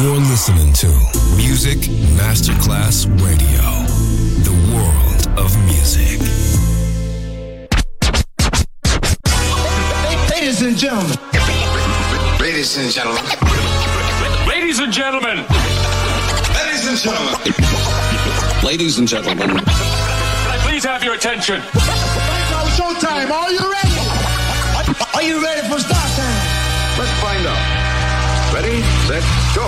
You're listening to Music Masterclass Radio, the world of music. Ladies and gentlemen. Ladies and gentlemen. Ladies and gentlemen. Ladies and gentlemen. Ladies and gentlemen. Can I please have your attention? It's showtime. Are you ready? Are you ready for start time? Let's find out. Ready, set, go.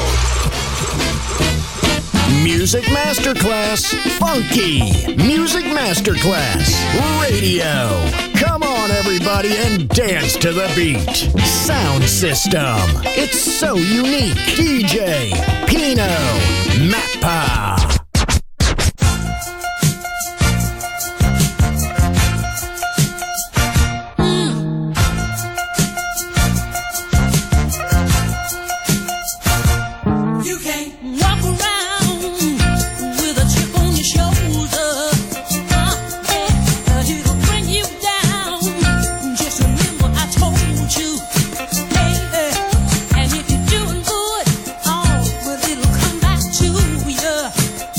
Music Masterclass Funky. Music Masterclass Radio. Come on, everybody, and dance to the beat. Sound system. It's so unique. DJ Pino Mappa. And if you're doing good, oh, well, it'll come back to you.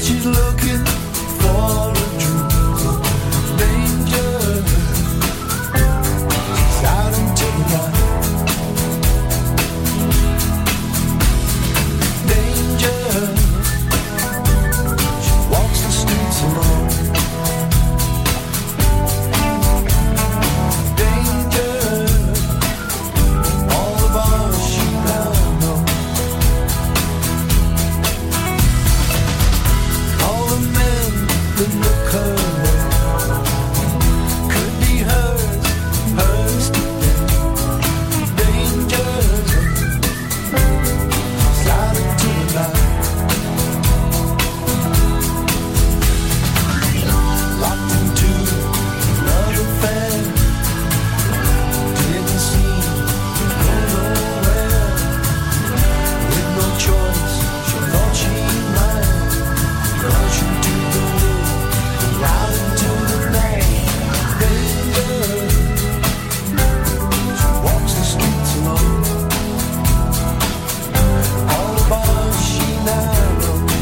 she's looking for a dream. Danger. She's out into the night. Danger. She walks the streets alone. Danger. All the bars she now knows. All the men that look her way could be hers, hers today. Danger. She's out into the night. Locked into love affair. Didn't seem to go nowhere. With no choice, she thought she might rush into the wood, out into the night. Danger. She walks the streets alone. All the bars she now knows.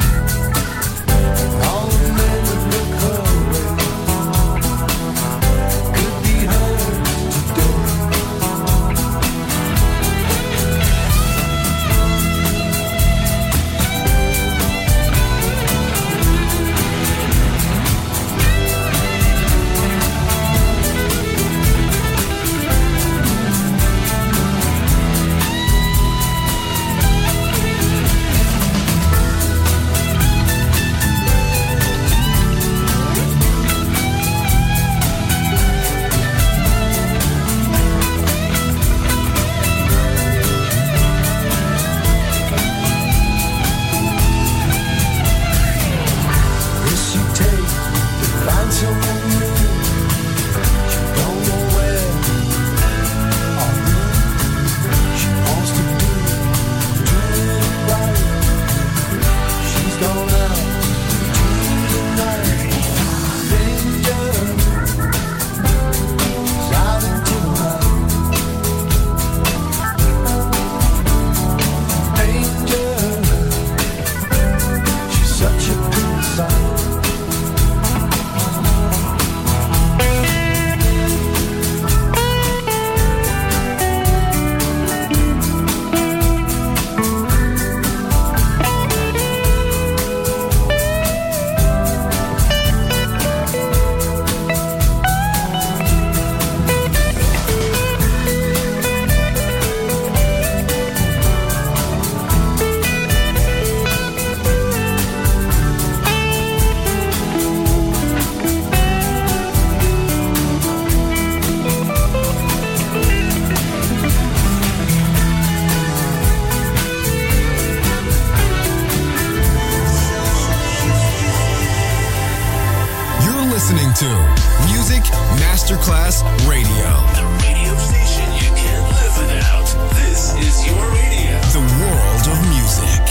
All the men that look her way could be hers today. Risk you take to find someone new. She don't know where or who. She wants to do it right. She's gone out into the night. Danger. She's out into the night. Danger. She's such a pretty sight. You're listening to Music Masterclass Radio. The radio station you can't live without. This is your radio. The world of music.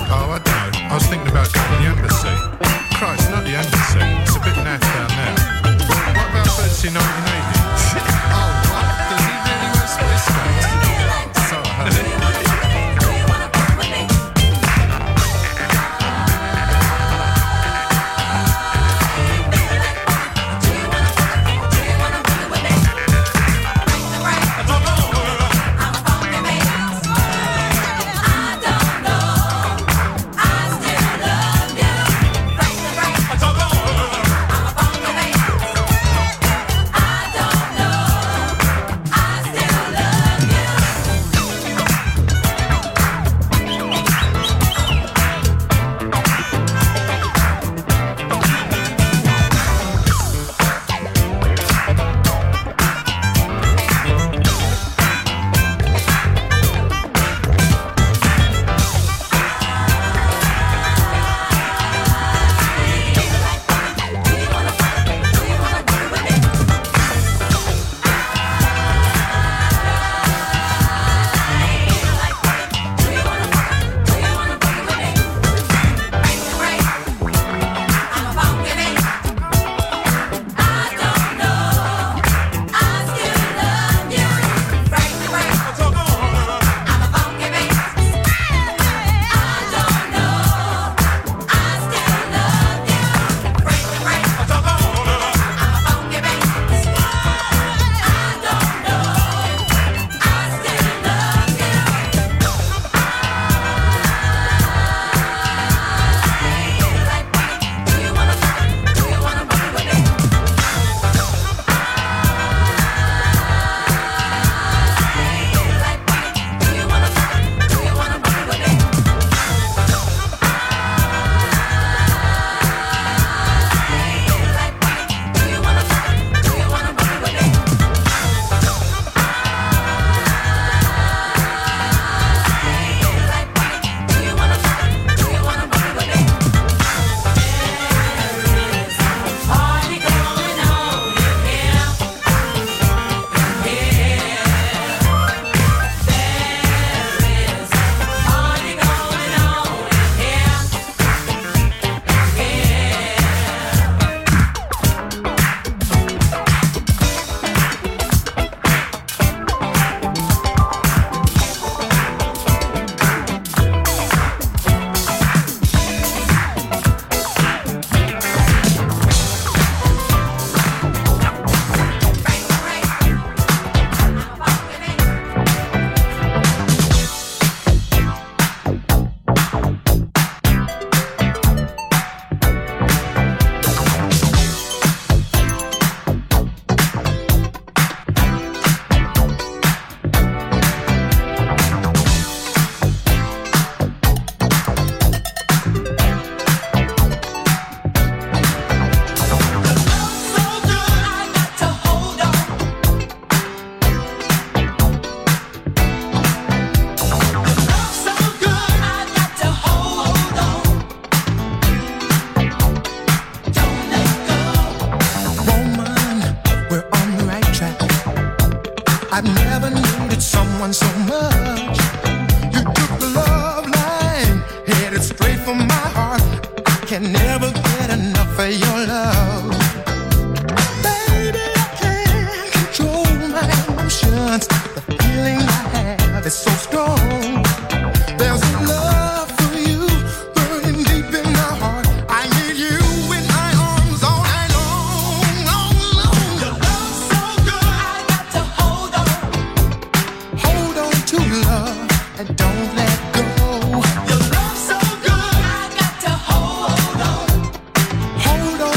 Oh, I don't know. I was thinking about going to the embassy. Christ, not the embassy. It's a bit naff down there. What about Fancy 1980? Oh, what? Does he really wear space suits? Oh, so honey. can never get enough of your love. Baby, I can't control my emotions. The feeling I have is so strong. There's a love for you burning deep in my heart. I need you in my arms all night long, long, long. Your love's so good, I got to hold on. Hold on to love and don't let go. Your love's so good, I got to hold on. Hold on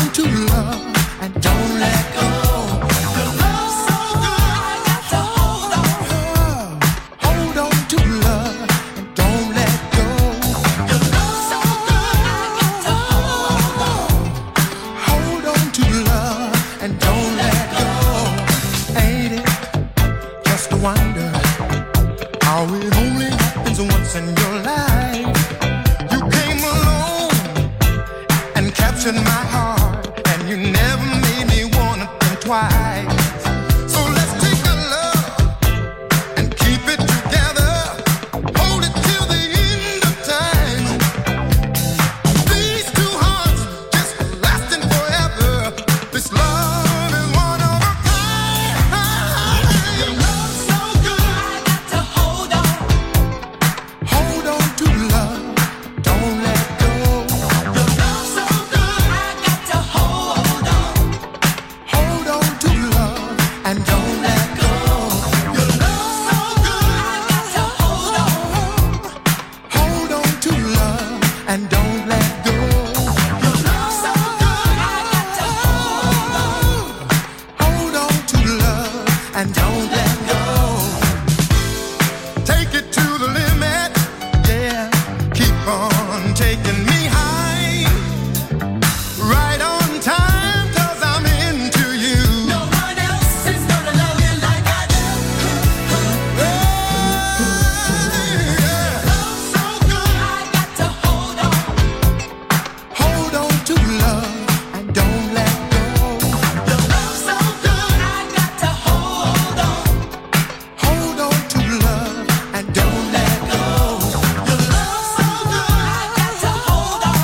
on taking me high, right on time, 'cause I'm into you. No one else is gonna love you like I do. Love so good, I got to hold on. Hold on to love and don't let go. Your love so good, I got to hold on. Hold on to love and don't let go. Your love so good, I got to hold on.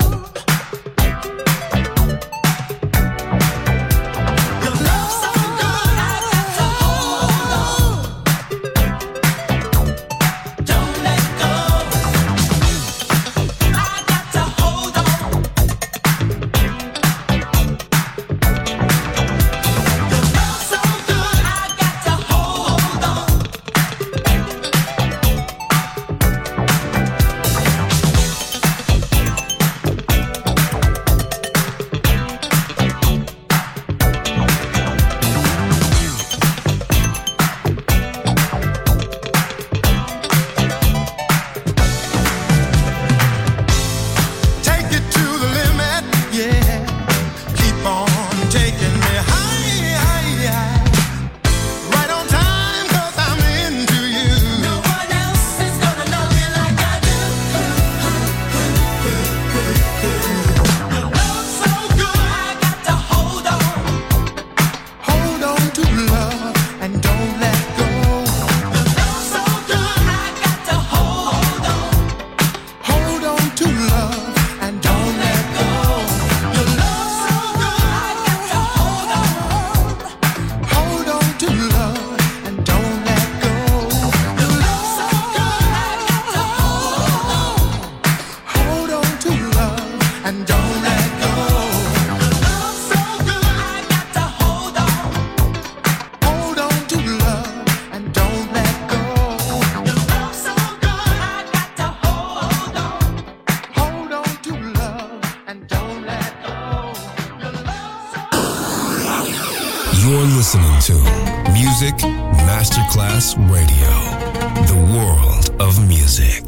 Your love so good, I got to hold on. Don't let go. I got to hold on. Your love so good, I got to hold on. Take it to the limit, yeah. Keep on taking me high. Right on time, 'cause I'm into you. No one else is gonna love me like I do. Your love so good, I got to hold on. Hold on to love and don't let go. Your love so good, I got to hold on. Hold on to love and don't let go. Your love so good, I got to hold on. Hold on to love and don't let go. Your love so good, I got to hold on. Hold on to love and don't let go. Your love so good, I got to hold on. Hold on to love and don't let go. Your love so good, I got to hold on. Hold on to love and don't let go. Your love so You're listening to Music Masterclass Radio, the world of music.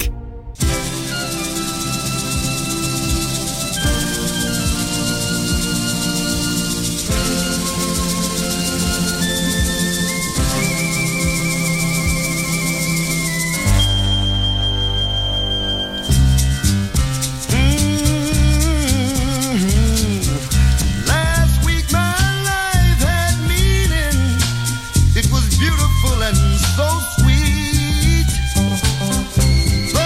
Last week my life had meaning. It was beautiful and so sweet.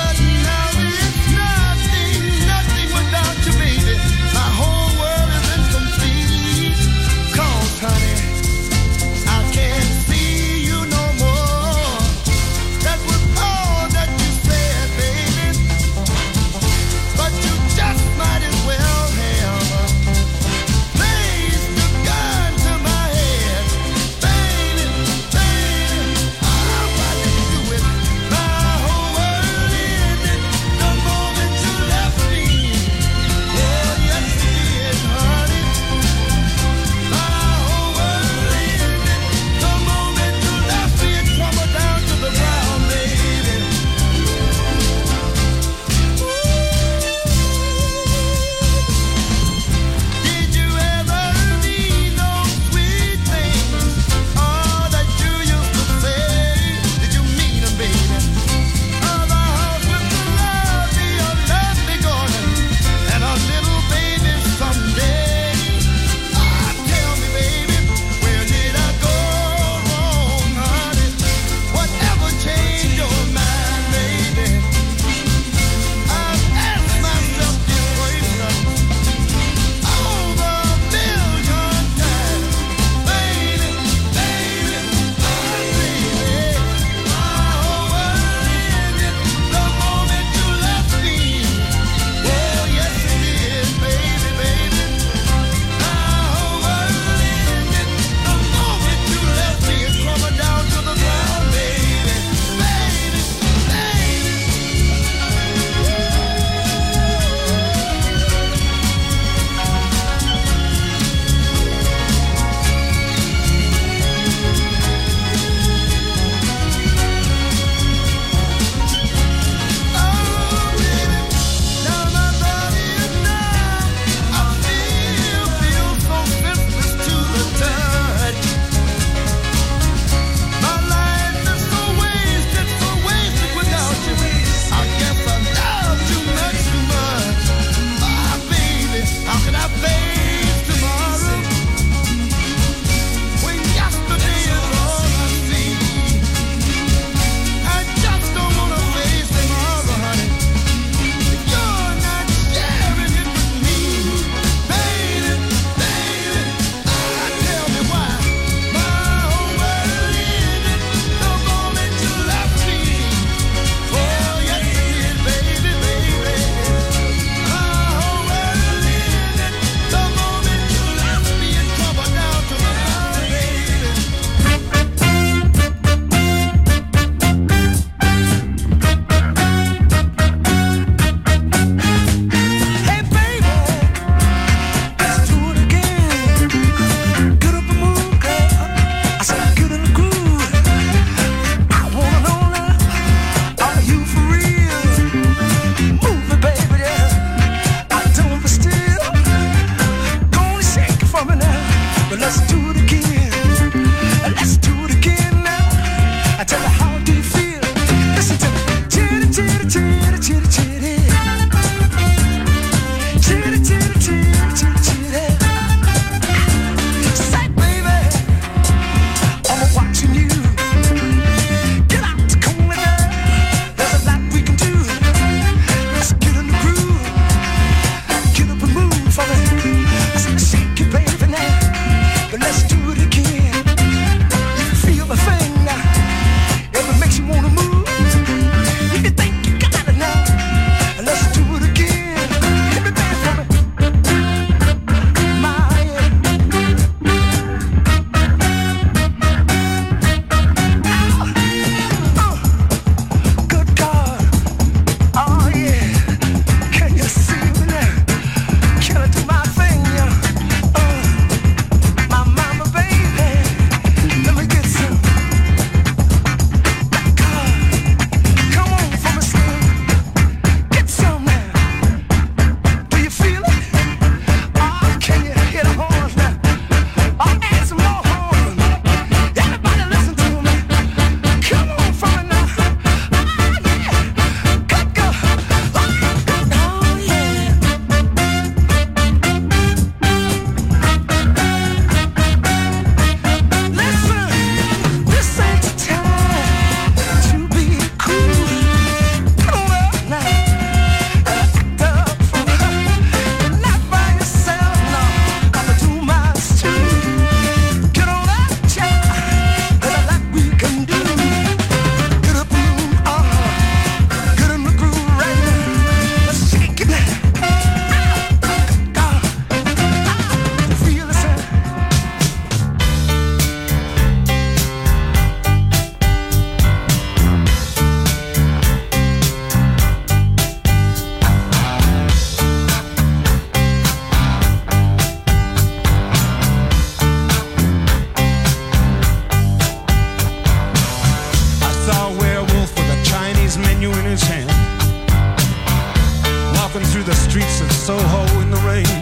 streets of Soho in the rain.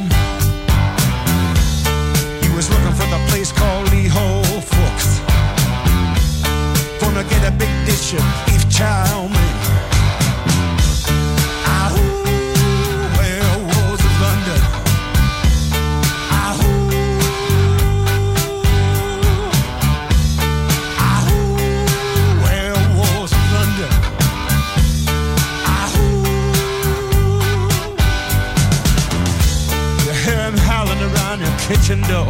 He was looking for the place called Lee Ho Fooks. Gonna get a big dish of beef chow mein. Werewolves of London. Werewolves of London. You hear him howling around your kitchen door.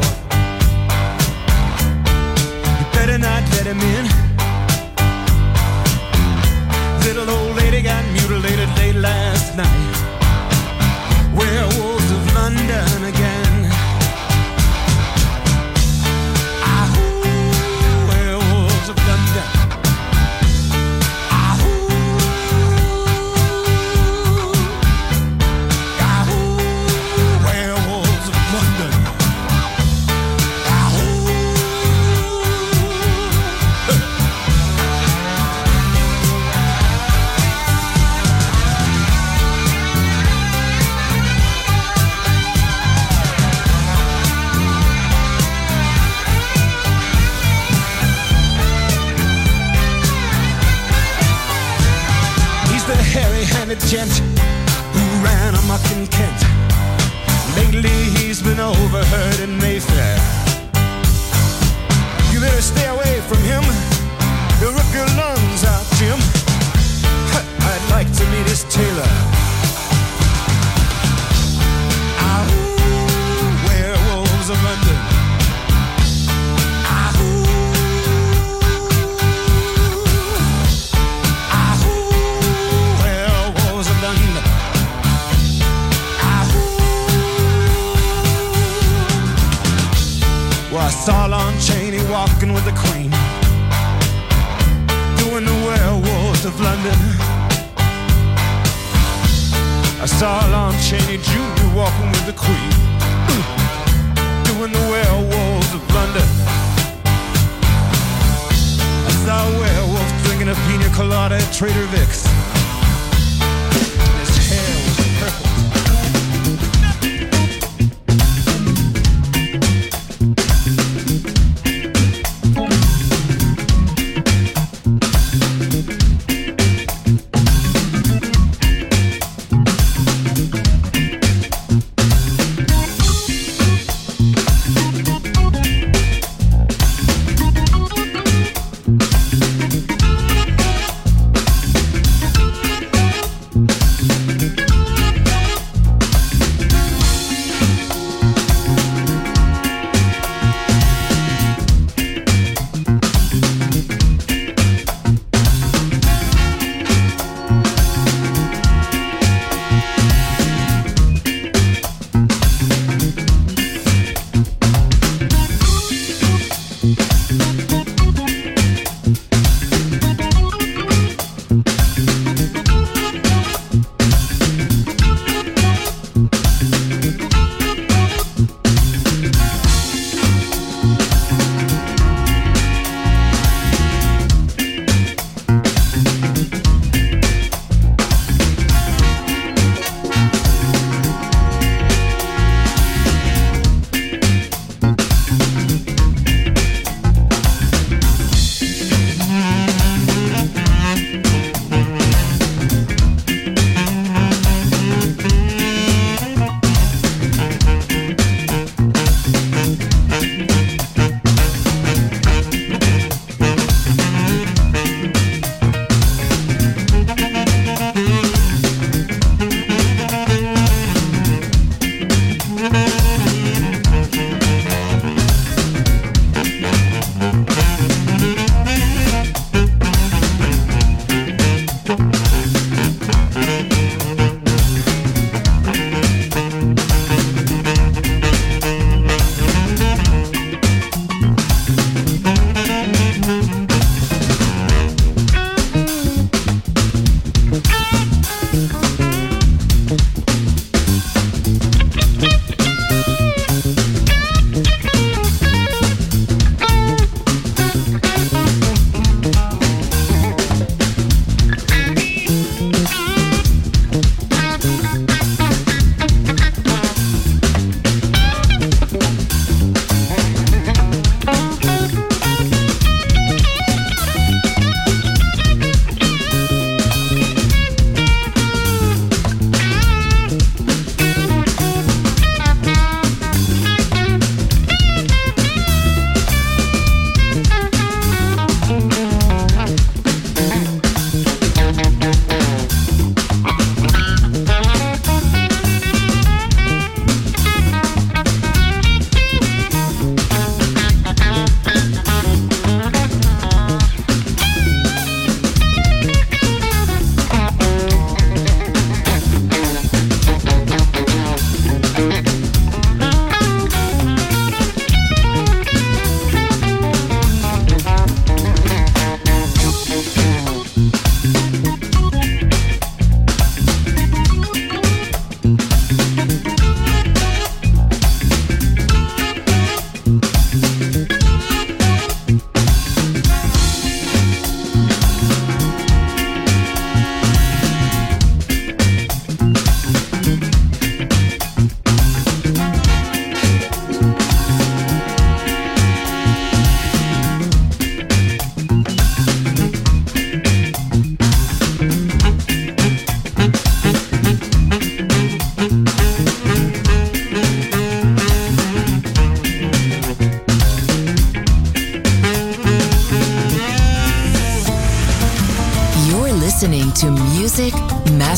You better not let him in. Little old lady got mutilated late last night. Werewolves of London again. Werewolves of London. Werewolves of London. Hairy-handed gent who ran amok in Kent. Lately he's been overheard in Mayfair. You better stay away from him. He'll rip your lungs out, Jim. I'd like to meet his tailor. Werewolves of London. I saw Lon Chaney walking with the Queen, doing the Werewolves of London. I saw Lon Chaney Jr. walking with the Queen, doing the Werewolves of London. I saw a werewolf drinking a pina colada at Trader Vic's. His hair was purple.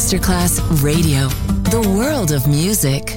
Masterclass Radio, the world of music.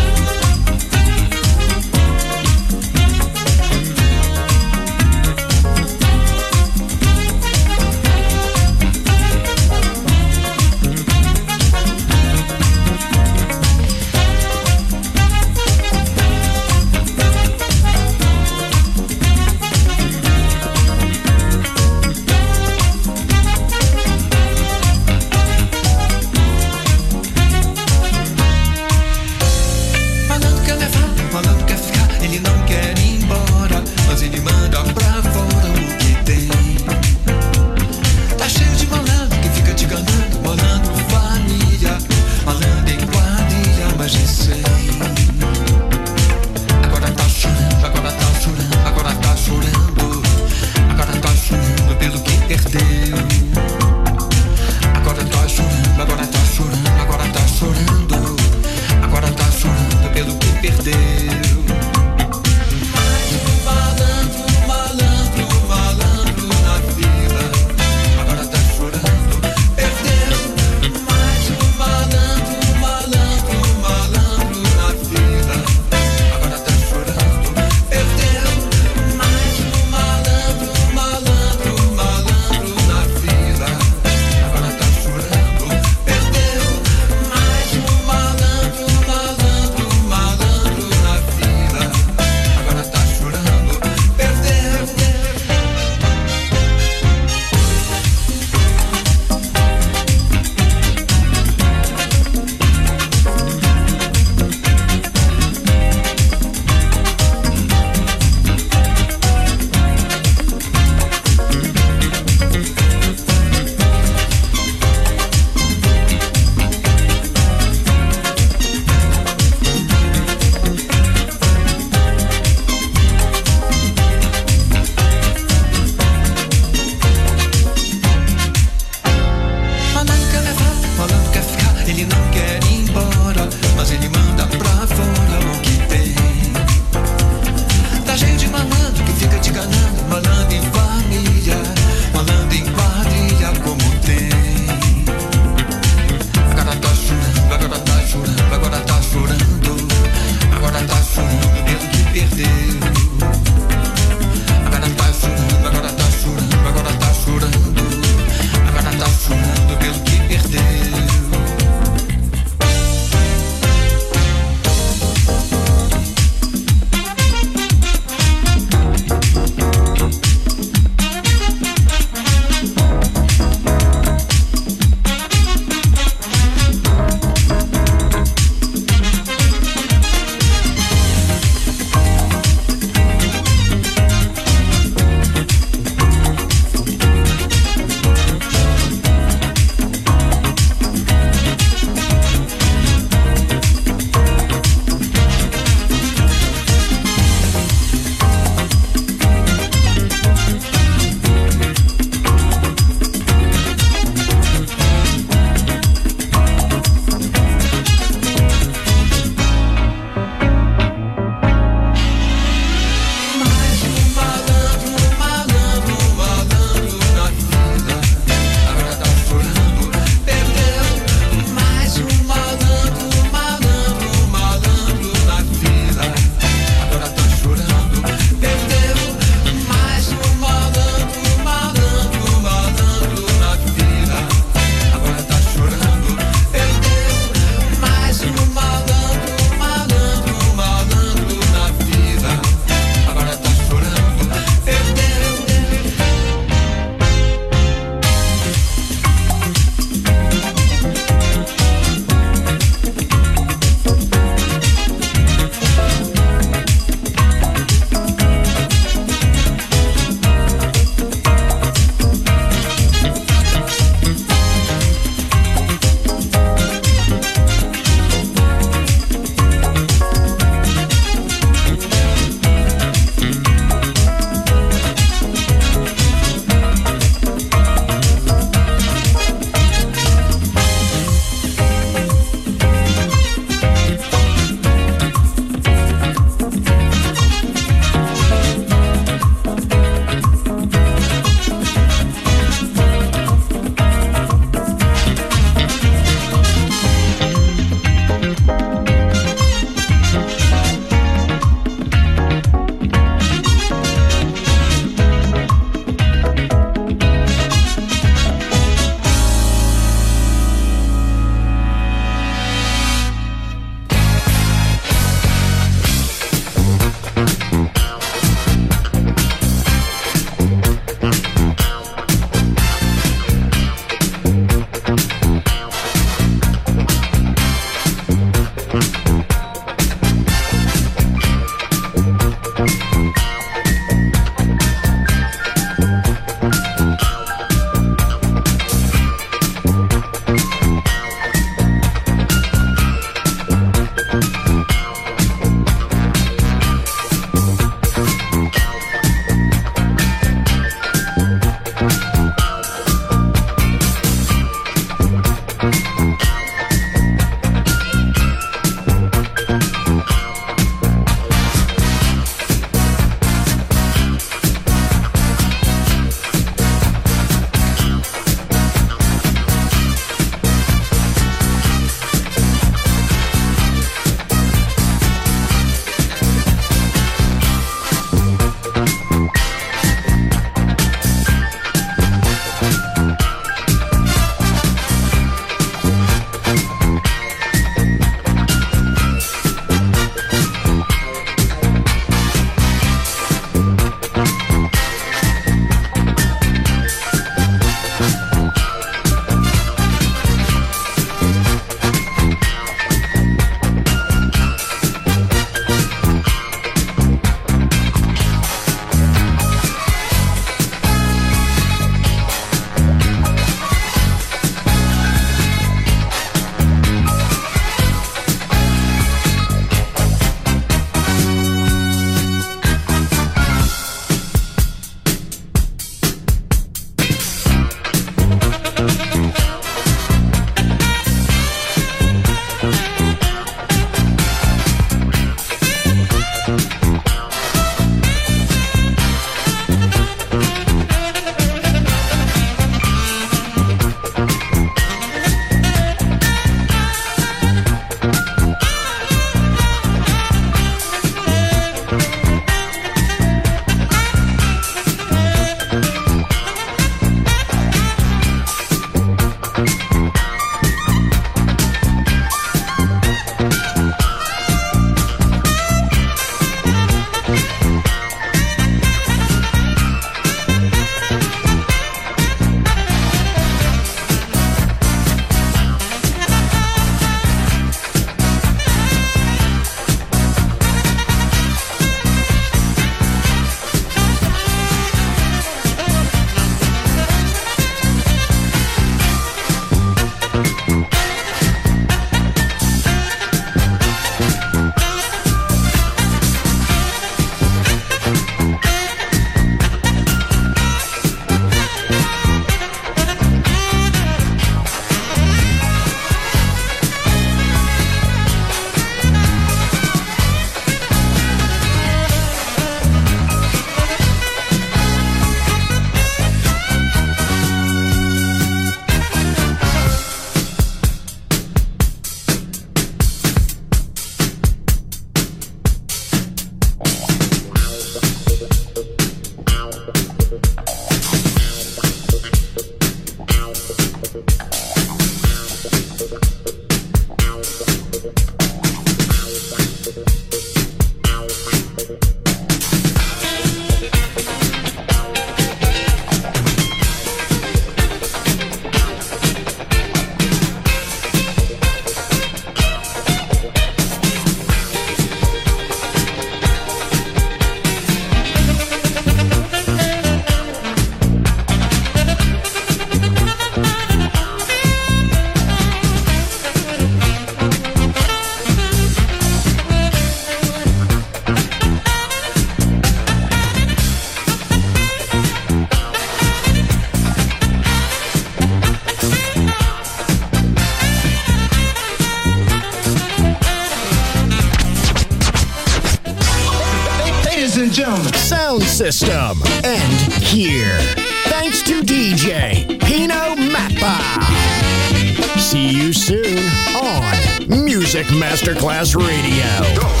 and gentlemen. Sound system. And here. Thanks to DJ Pino Mappa. See you soon on Music Masterclass Radio.